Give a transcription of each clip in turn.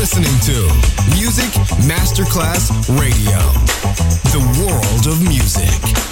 listening to Music Masterclass Radio, the world of music.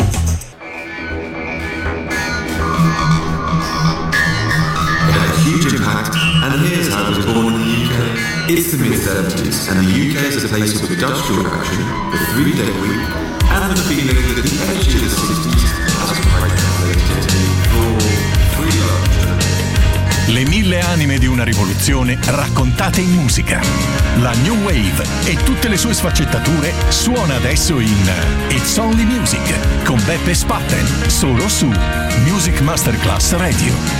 It had a huge impact, and here's how it was born in the UK. It's the mid-70s, and the UK is a place of industrial action, the 3-day week, and the feeling that the edge of the 60s has quite translated for 3 love. Le 1000 anime di una rivoluzione raccontate in musica. La New Wave e tutte le sue sfaccettature suona adesso in It's Only Music con Beppe Spatten, solo su Music Masterclass Radio.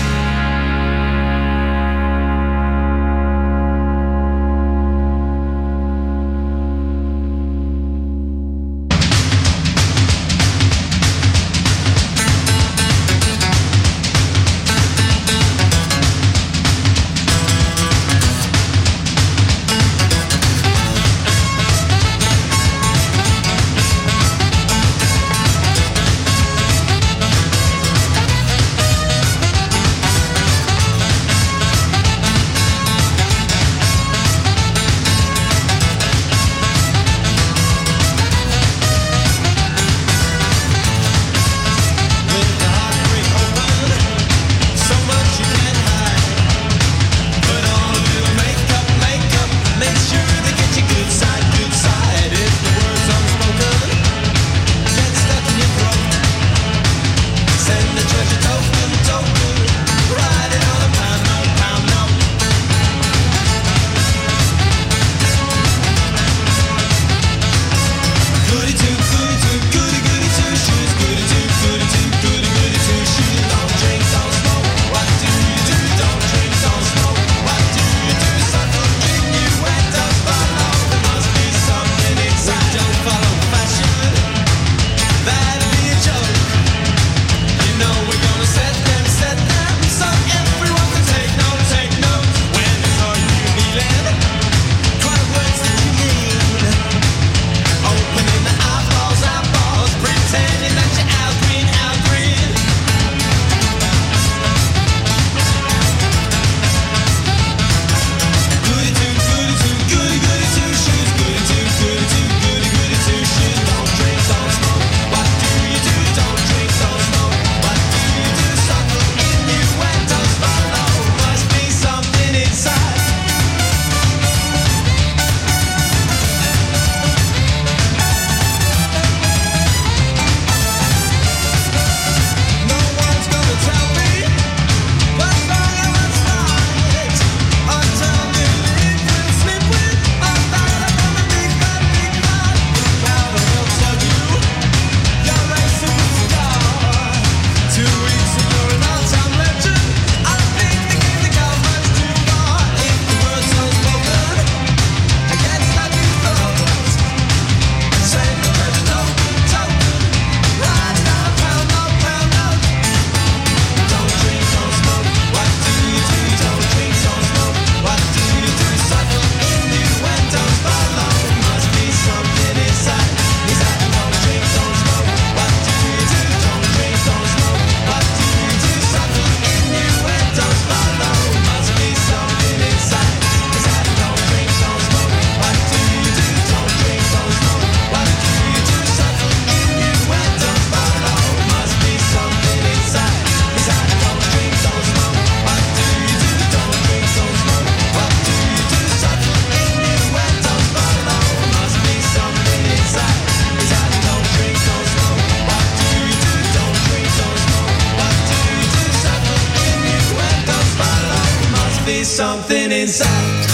Something inside.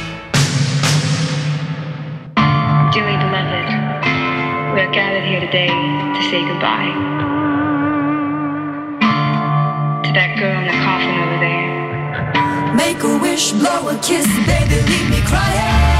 Dearly beloved, we are gathered here today to say goodbye to that girl in the coffin over there. Make a wish, blow a kiss, baby, leave me crying.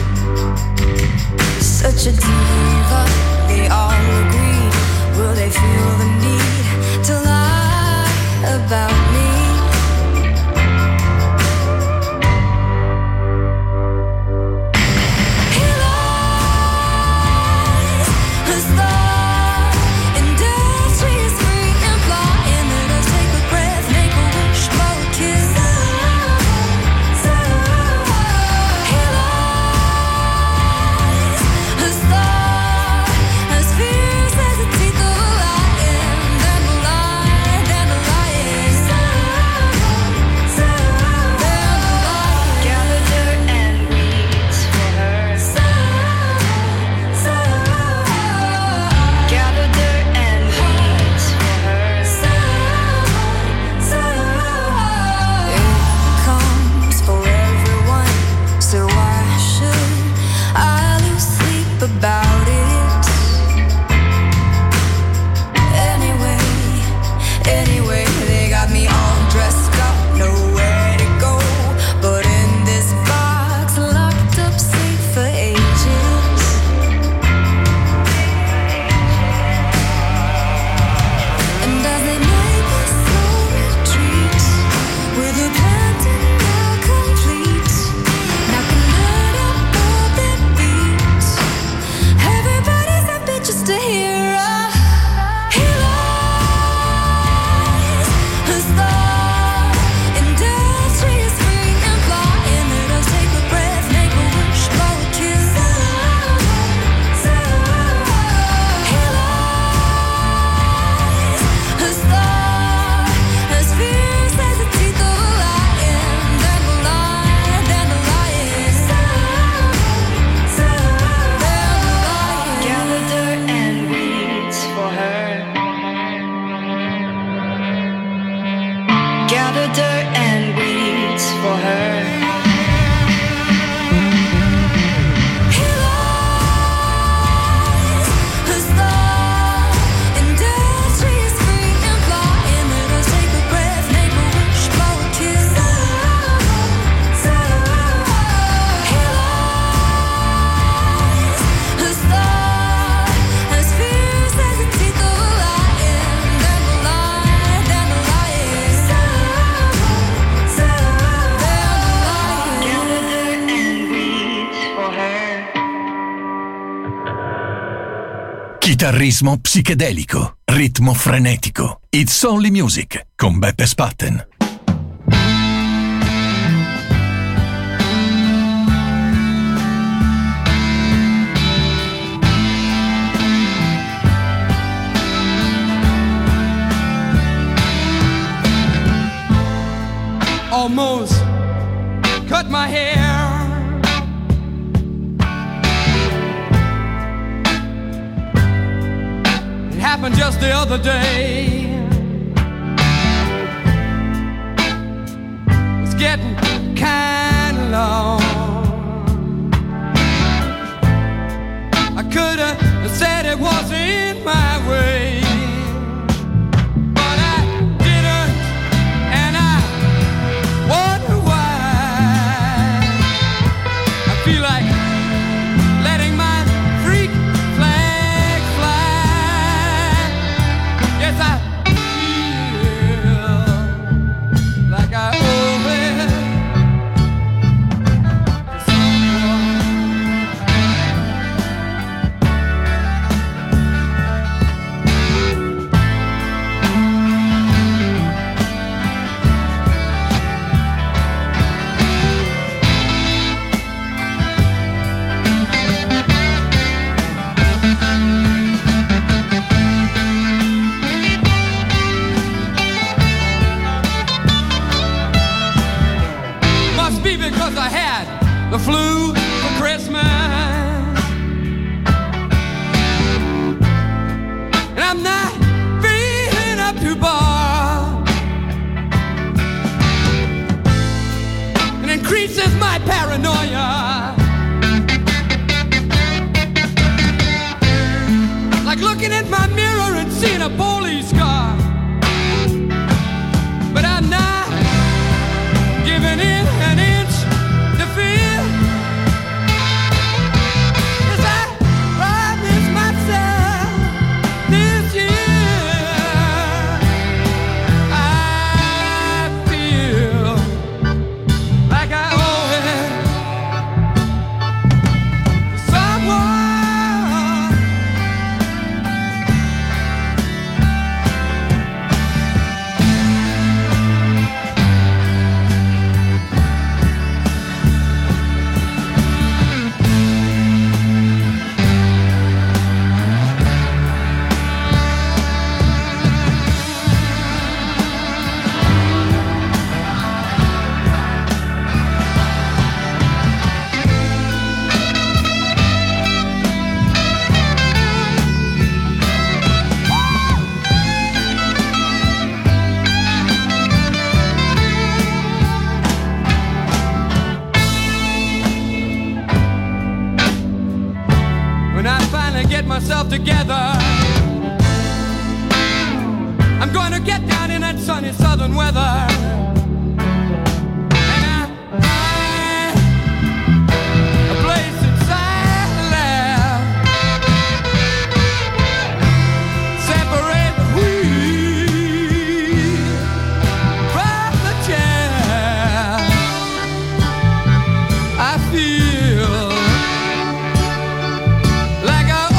Such a diva, they all agree. Will they feel Chitarrismo psichedelico, ritmo frenetico. It's Only Music con Beppe Spatten. Almost cut my hair. It happened just the other day. It's getting kind of long. I could have said it wasn't my way. The flu for Christmas, and I'm not feeling up to bar. It increases my paranoia, like looking at my mirror and seeing a police car. But I'm not giving in an inch to fear. Myself together, I'm going to get down in that sunny southern weather, and a place inside the lab, separate the wheat from the chaff. I feel like I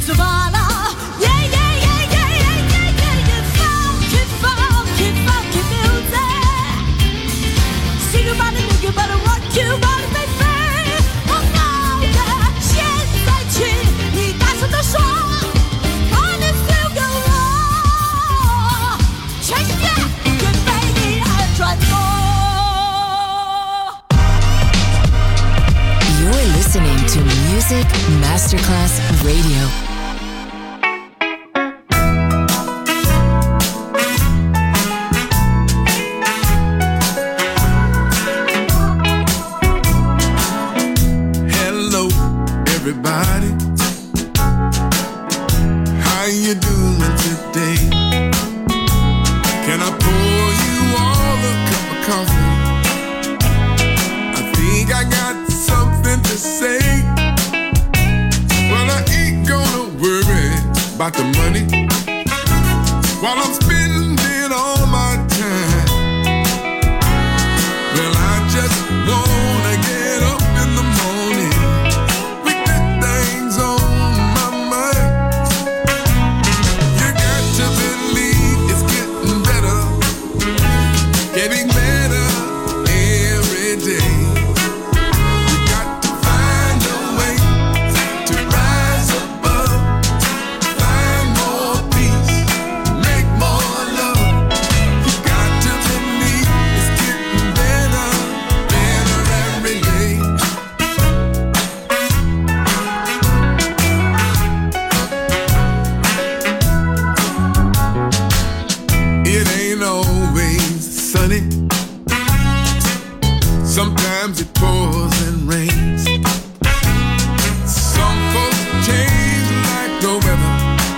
Savannah. Yeah, yeah, yeah, yeah, yeah, yeah, yeah, yeah. Funky, funky, funky music. Sing about it, think about it, rock you about it, baby. 我爱的现在起，你大声地说 ，On is still go on， 全世界也被你爱转动。 You're listening to Music Masterclass Radio. Hello, everybody. How you doing today? Can I pour you all a cup of coffee? I think I got something to say. Well, I ain't gonna worry about the money while I'm spending all my time. Well, I just wanna get up in the morning with good things on my mind. You got to believe it's getting better, getting better every day. You got to find a way to rise above, find more peace, make more love. You got to believe it's getting better, better every day. It ain't always sunny. Sometimes it pours and rains. Some folks change like the weather,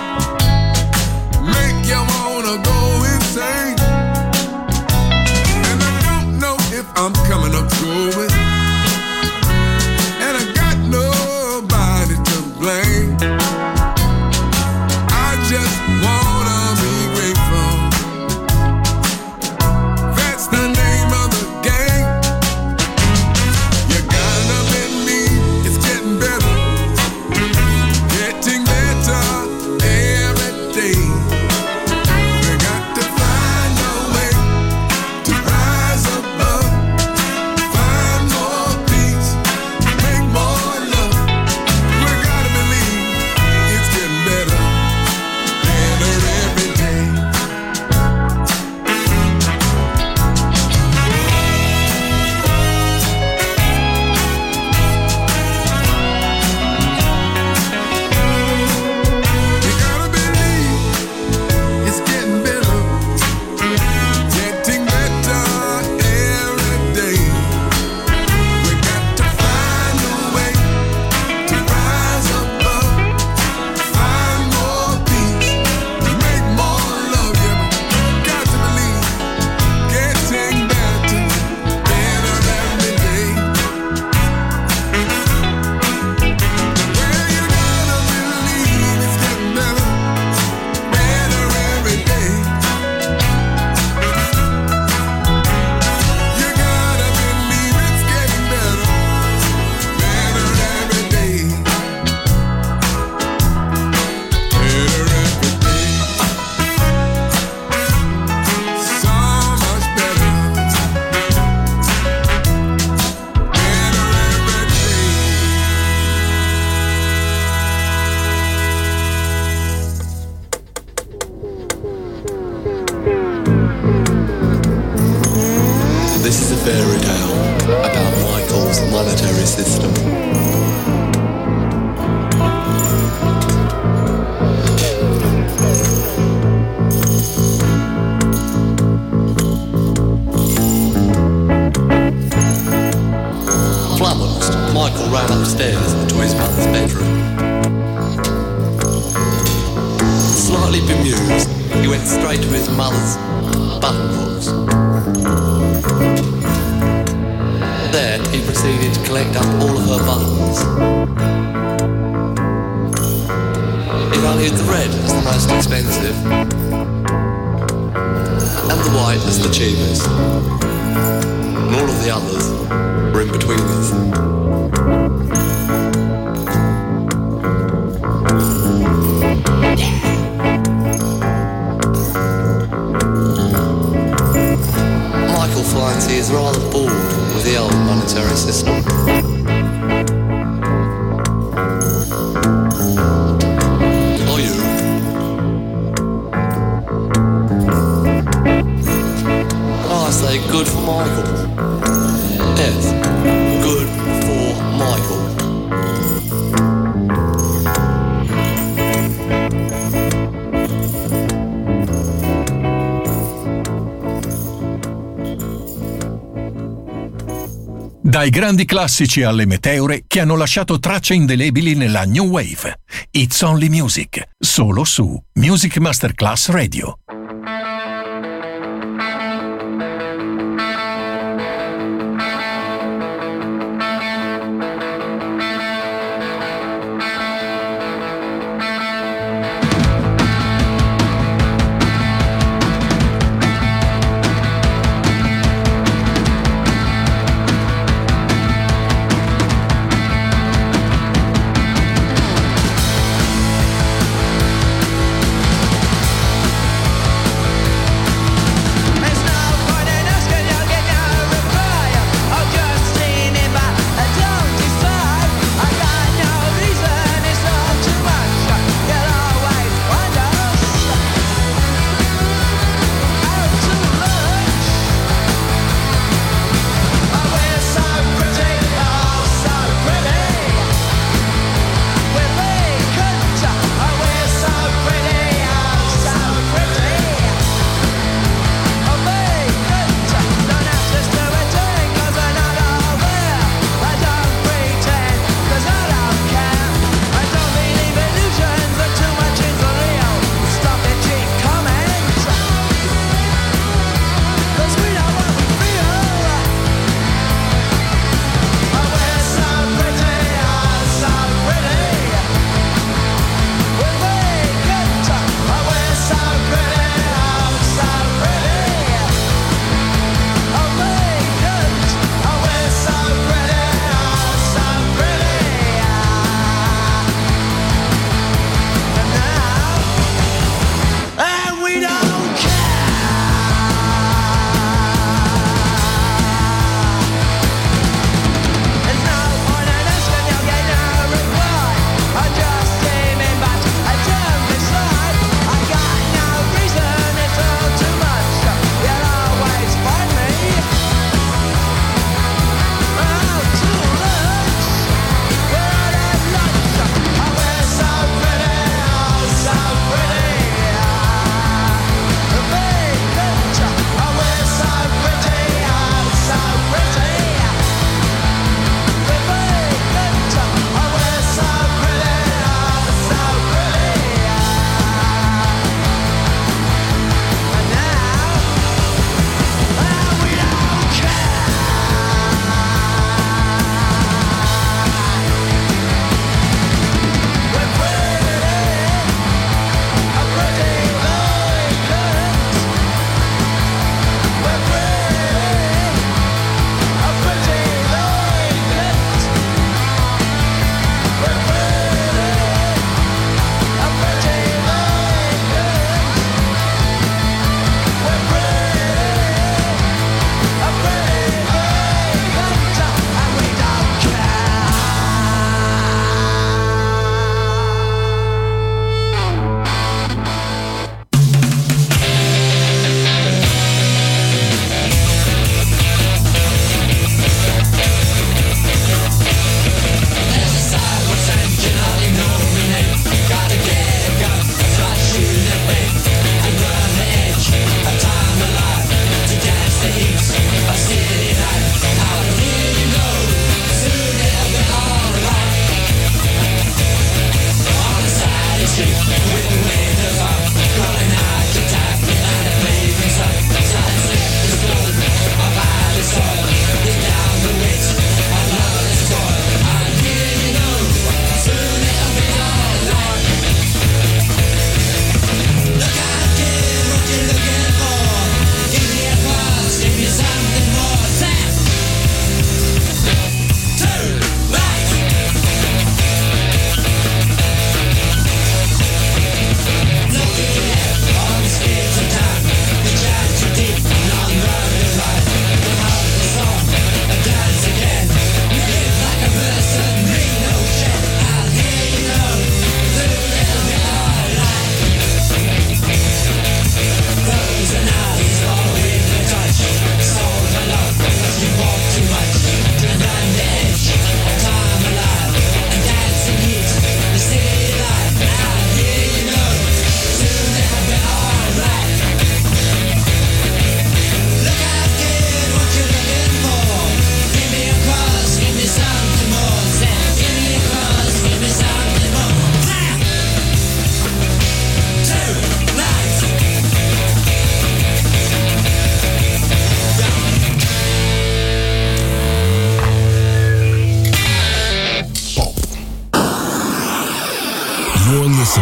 make you wanna go insane. And I don't know if I'm coming up going, and I got nobody to blame. I just wanna be grateful. That's the name of the game. You gotta believe it's getting better, getting better every day. We got to find a way to rise above, find more peace, make more love. We gotta believe it's getting better, better every day. You gotta believe it's getting better, getting better every day. We got to find a way to rise above, find more peace, make more love. Yeah, we got to believe getting better, better every day. Well, you gotta believe it's getting better, better every day. You gotta believe it's getting better, better every day. Better every day. So much better. Better every day. This is a fairy tale about Michael's monetary system. Flummoxed, Michael ran upstairs to his mother's bedroom. Slightly bemused, he went straight to his mother's buttonhooks. There, he proceeded to collect up all of her buttons. He valued the red as the most expensive, and the white as the cheapest. And all of the others were in between us. military system. Are you? I say good for Michael. Yes, good for Michael. Dai grandi classici alle meteore che hanno lasciato tracce indelebili nella New Wave. It's Only Music, solo su Music Masterclass Radio.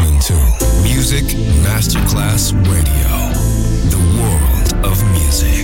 listening to Music Masterclass Radio, the world of music.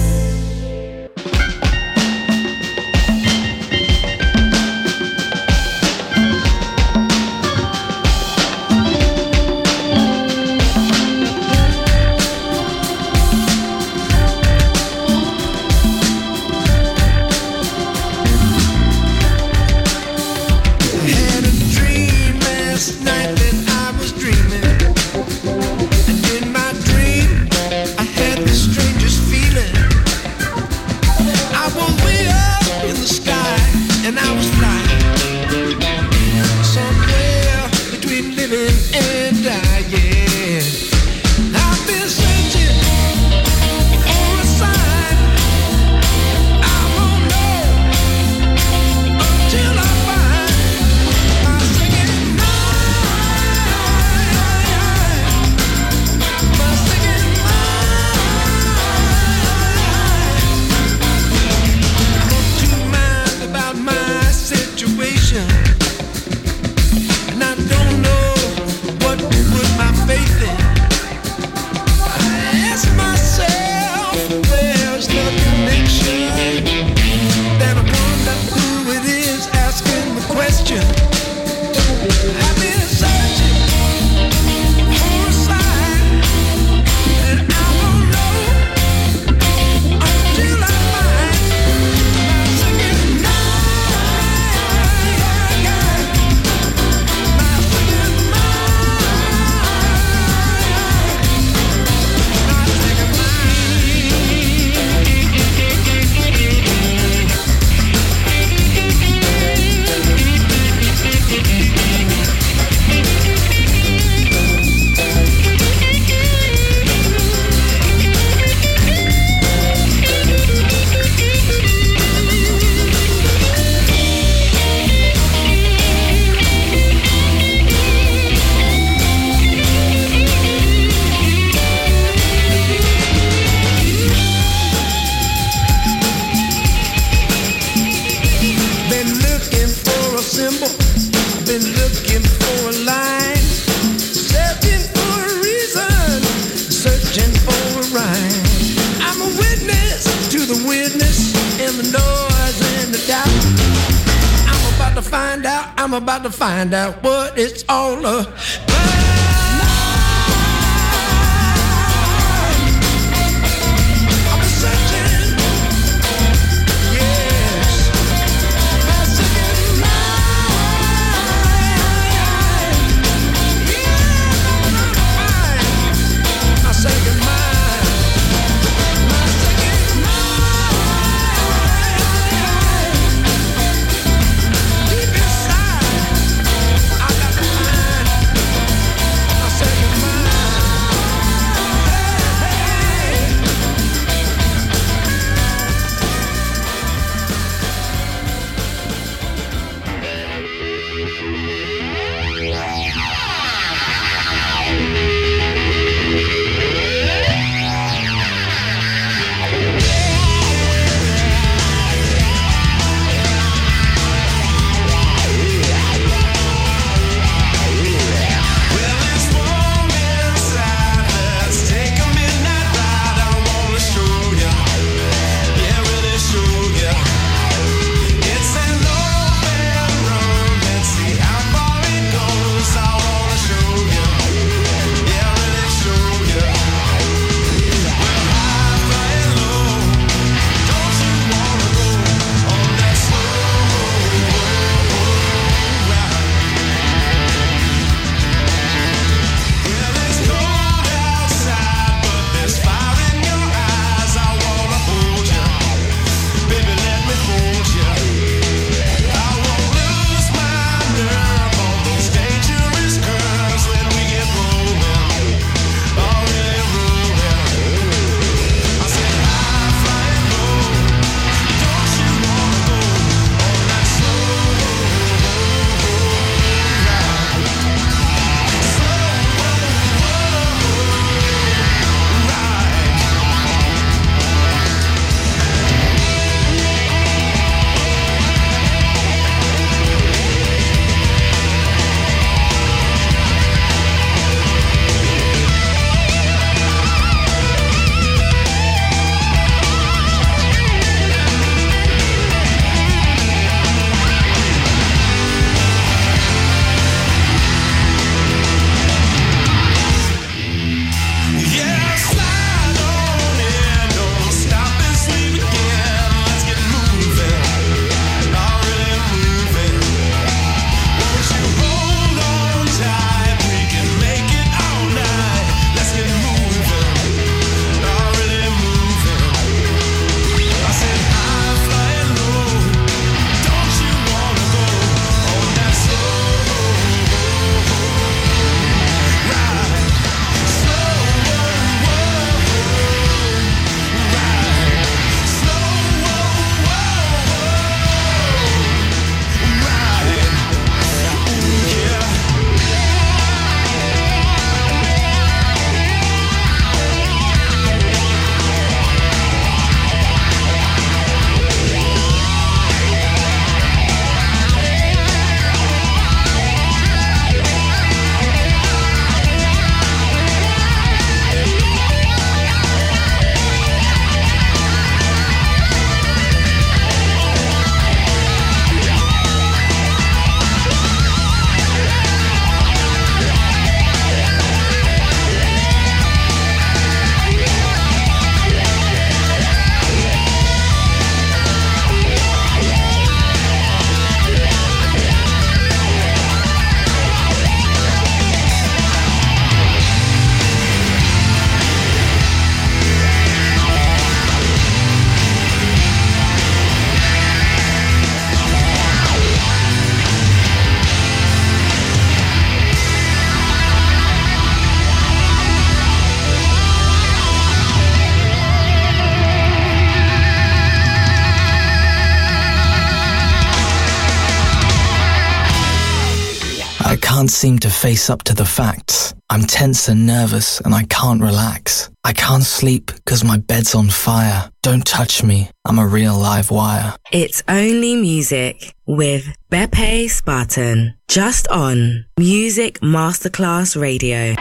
I'm about to find out what it's all about. Deep inside, I got to find can't seem to face up to the facts. I'm tense and nervous and I can't relax. I can't sleep because my bed's on fire. Don't touch me, I'm a real live wire. It's Only Music with Beppe Spartan. Just on Music Masterclass Radio.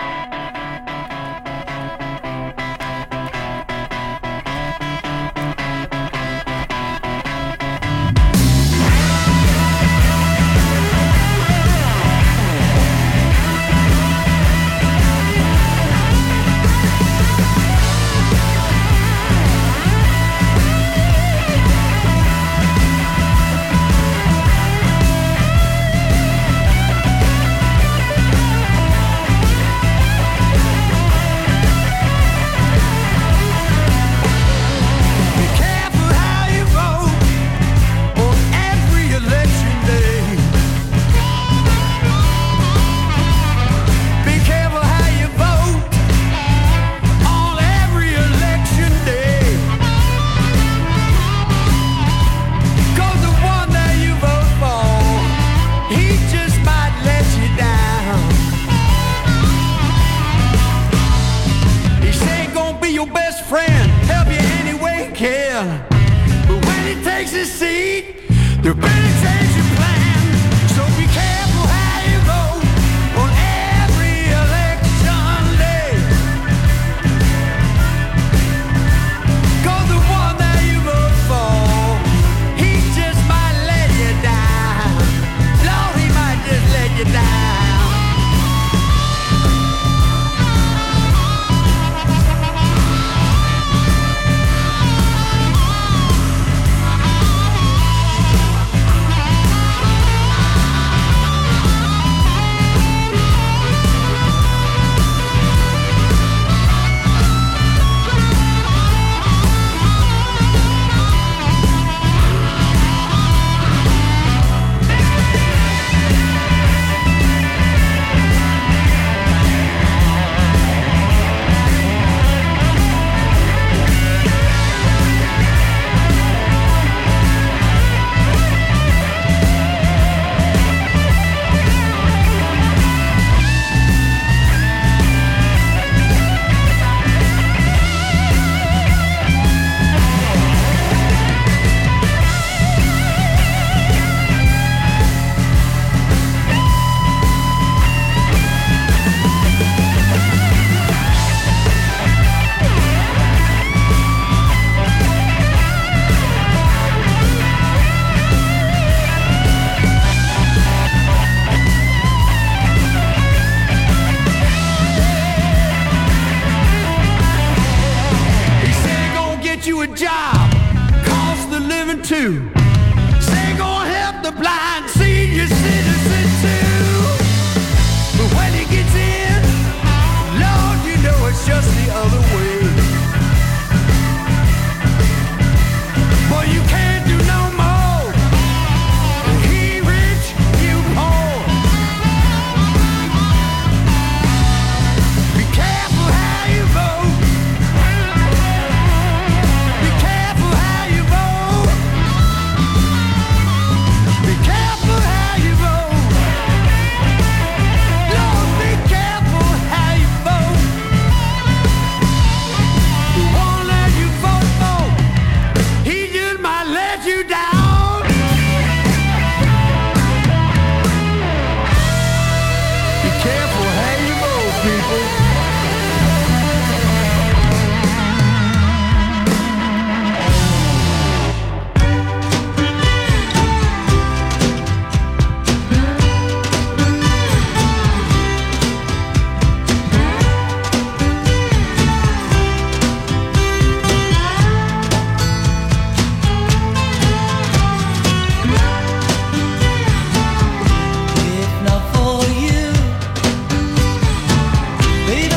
If not for you, baby.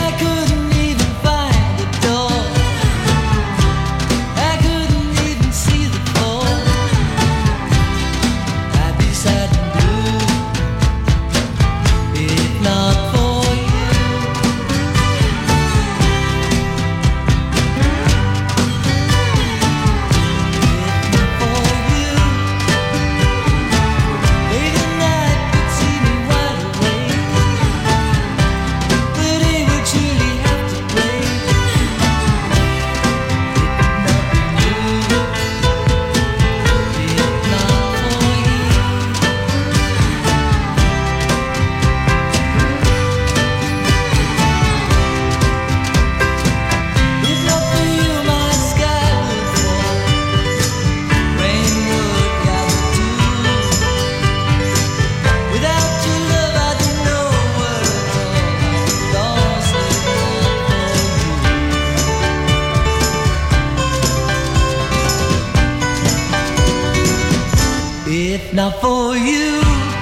If not for you,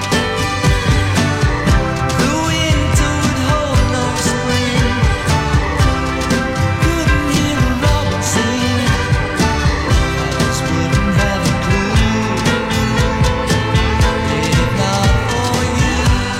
the winter would hold no spring. Couldn't hear a robin sing. I just wouldn't have a clue. If not for you.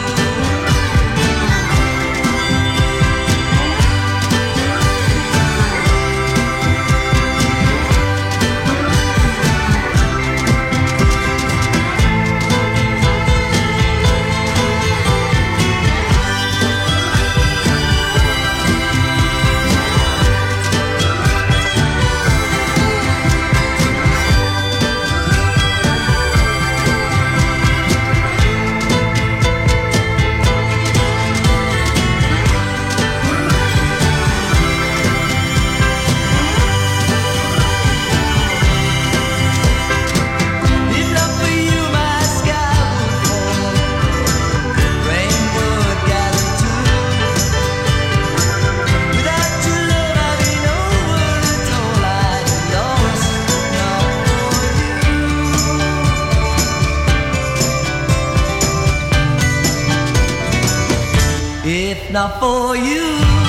If not for you,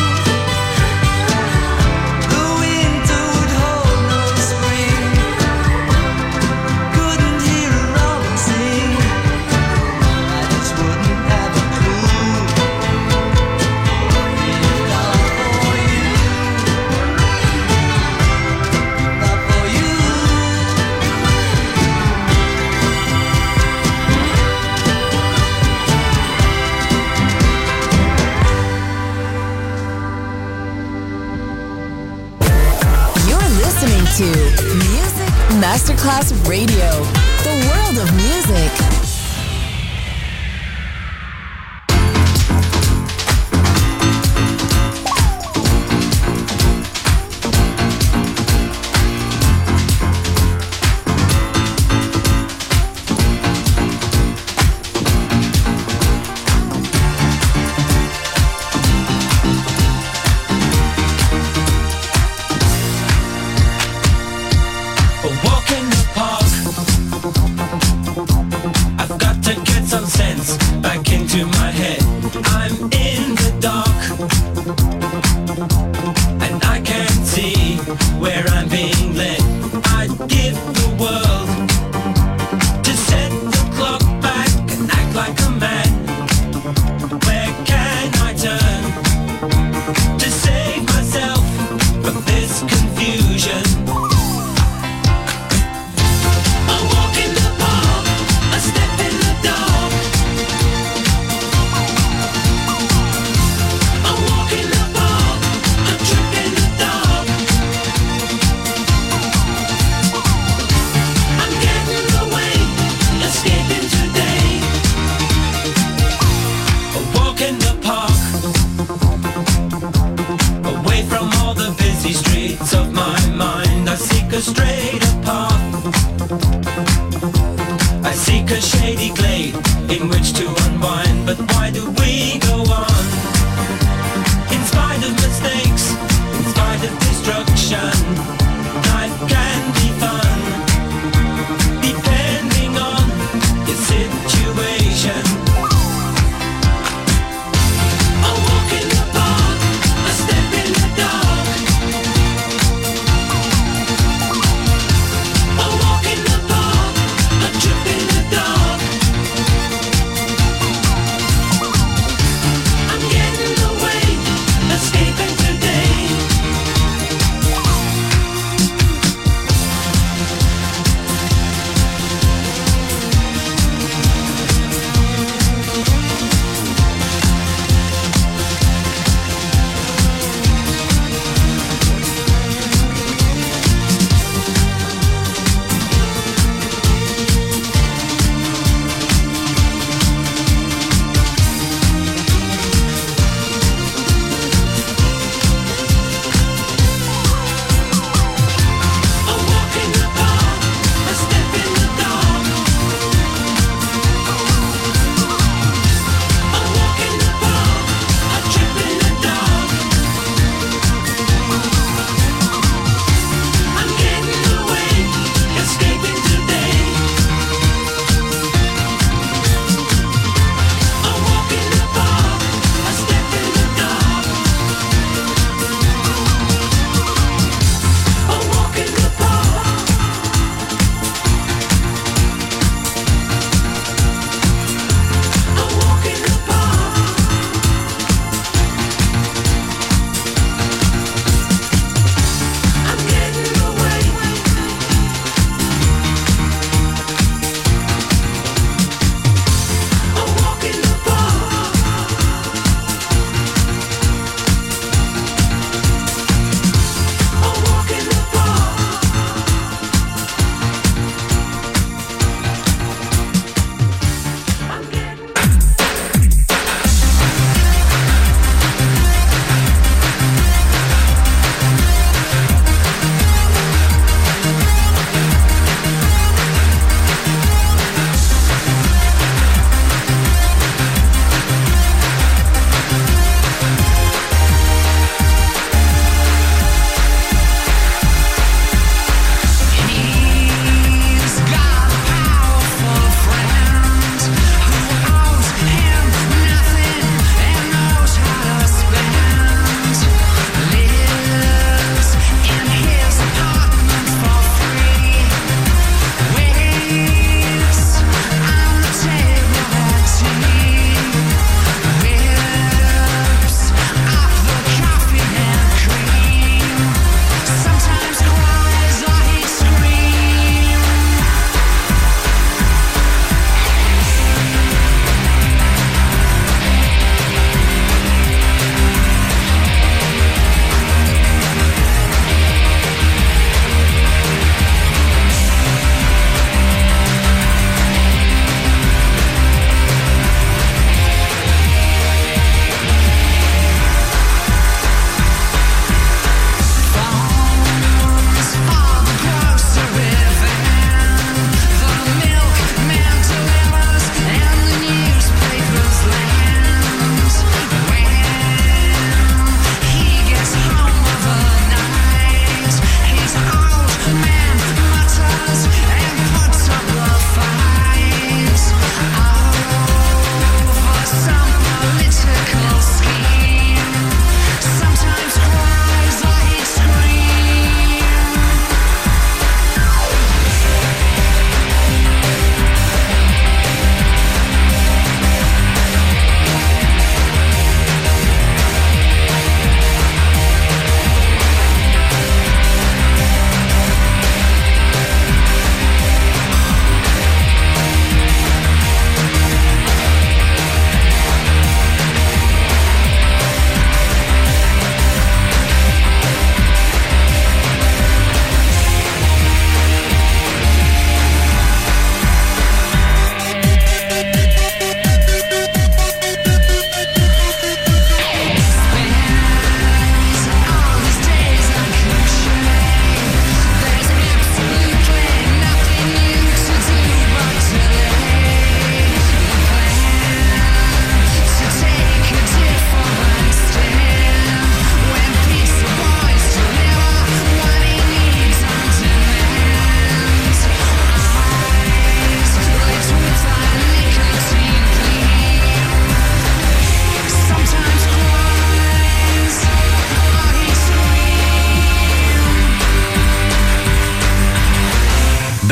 the winter would hold no spring. Couldn't hear a robin sing. I just wouldn't have a clue. If not for you, not for you. Listening to Music Masterclass Radio, the world of music.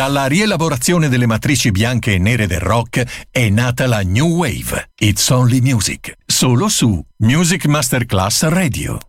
Dalla rielaborazione delle matrici bianche e nere del rock è nata la New Wave. It's Only Music. Solo su Music Masterclass Radio.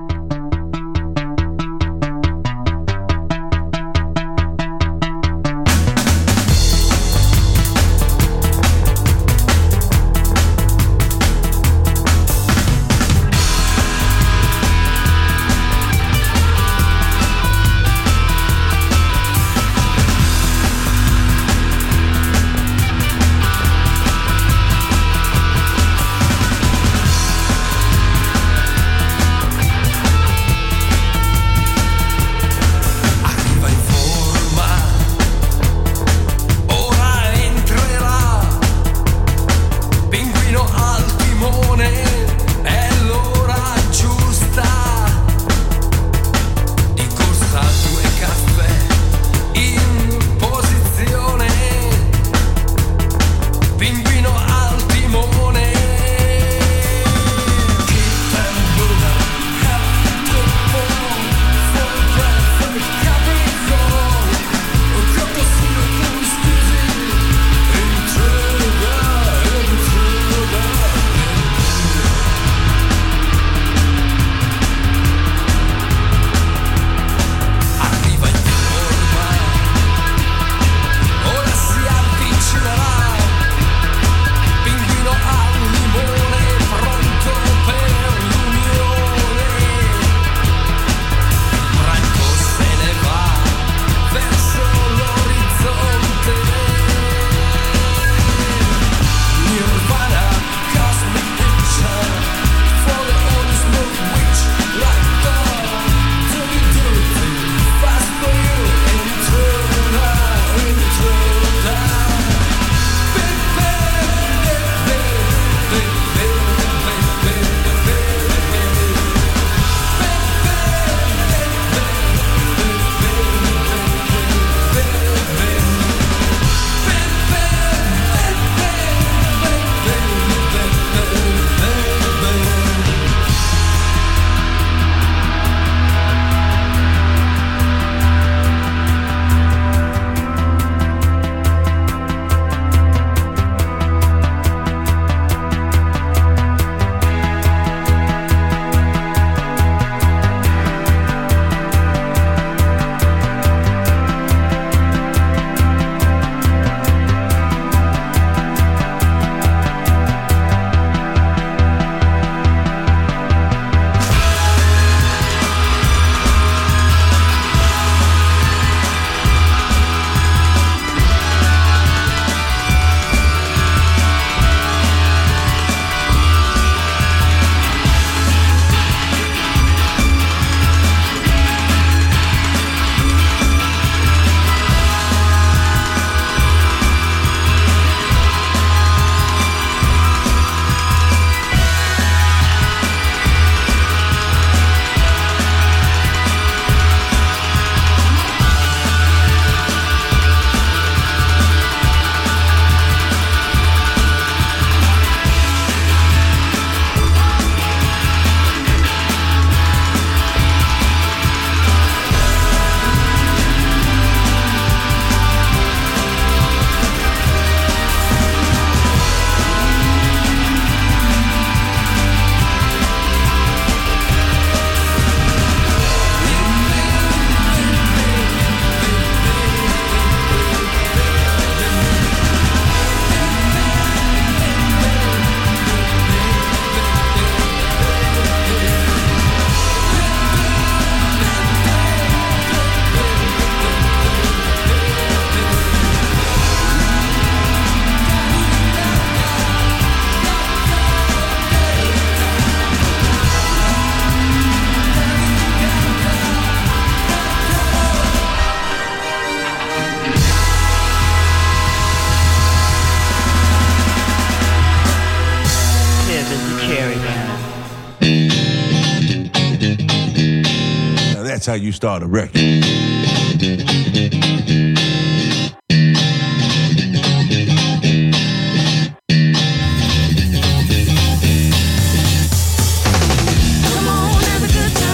That's how you start a record.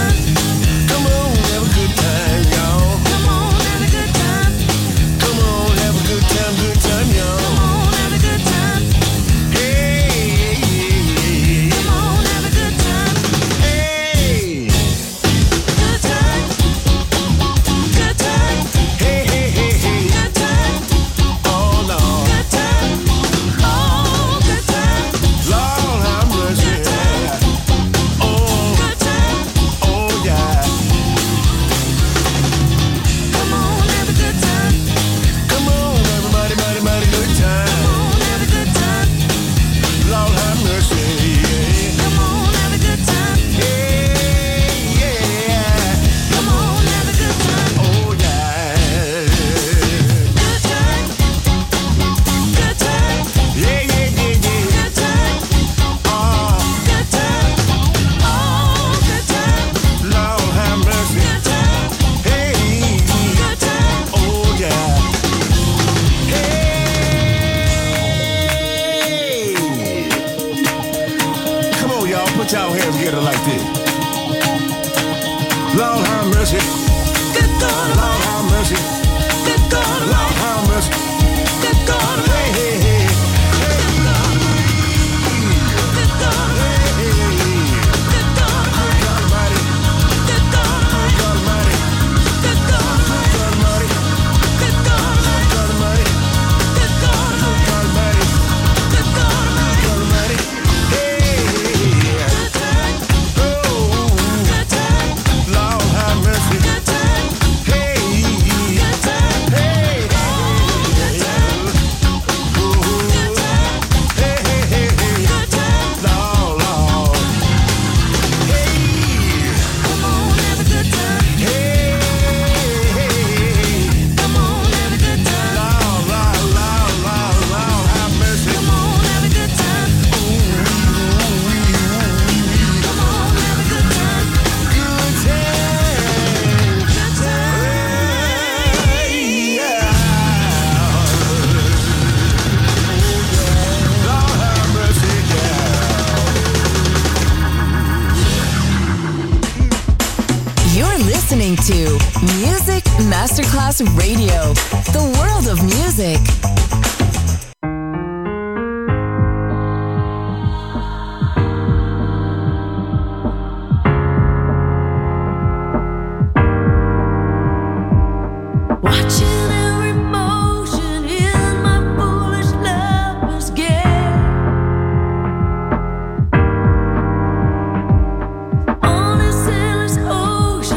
Come on, have a good time, y'all. Come on, have a good time. Come on, Lord have mercy. Good God, Lord have mercy. Good God, Lord have mercy. Good God, hey, hey, hey. Good God, good God, hey, hey, hey. Good God, good Almighty. Good God, good Almighty. Good God, good Almighty. Good God, good Almighty. Good God, good Almighty. Good God, good Almighty. Hey, hey, hey. Oh, Lord have mercy. Hey, hey, listening to Music Masterclass Radio, the world of music.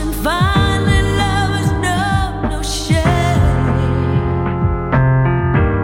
Finally, lovers know no shame.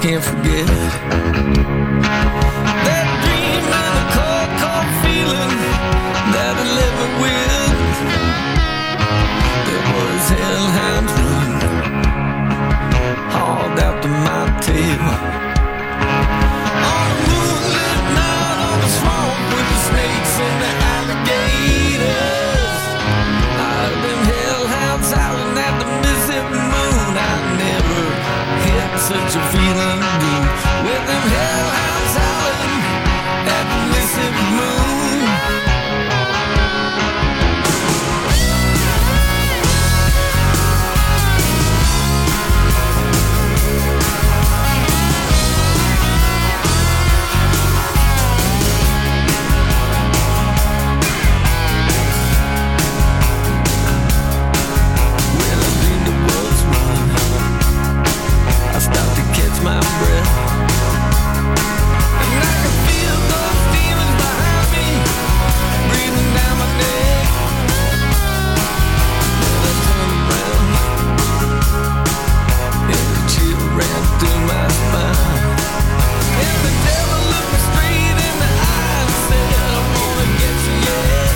can't forget that dream and the cold, cold feeling that I live with. It was hellhounds run hauled out to my tail on a moonlit night on the swamp with the snakes and the alligators. I've been hellhounds howling at the Mississippi moon. I never hit such a feeling good with them hellhounds howling at the Mississippi moon. My breath, and I can feel those demons behind me breathing down my neck. Then I turned around and the chill ran through my spine, and the devil looked me straight in the eye and said, I wanna get you yet.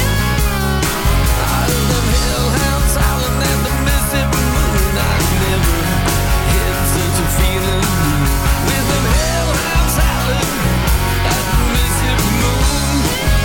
I heard them hellhounds howling at the Mississippi moon. I never had such a feeling with them hellhounds howling at the Mississippi moon.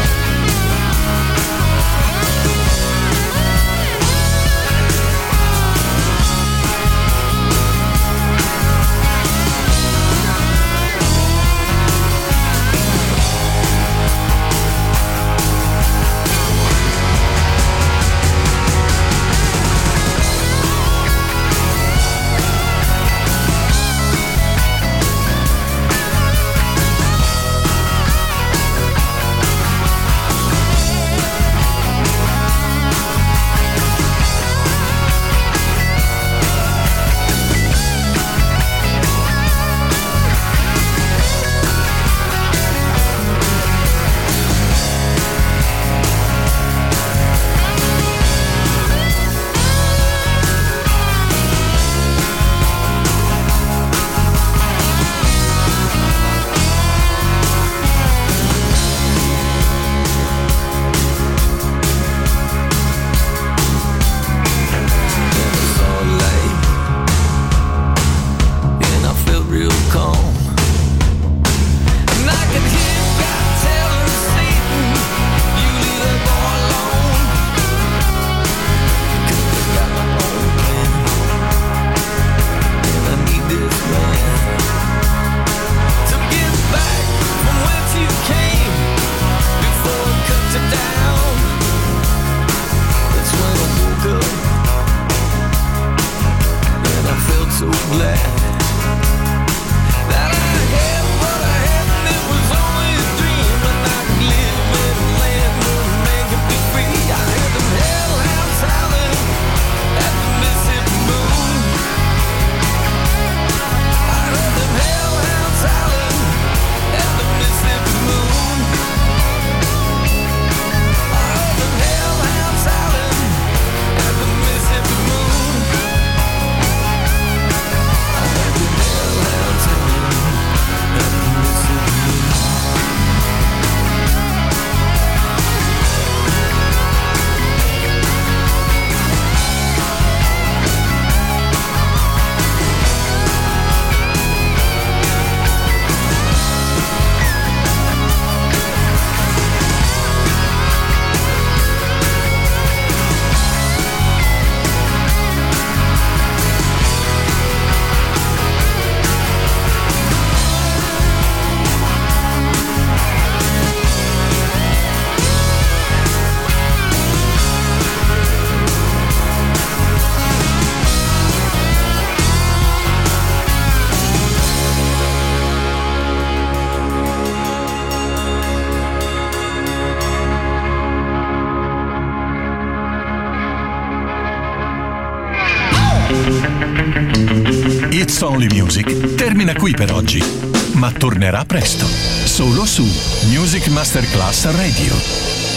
It's Only Music termina qui per oggi, ma tornerà presto, solo su Music Masterclass Radio.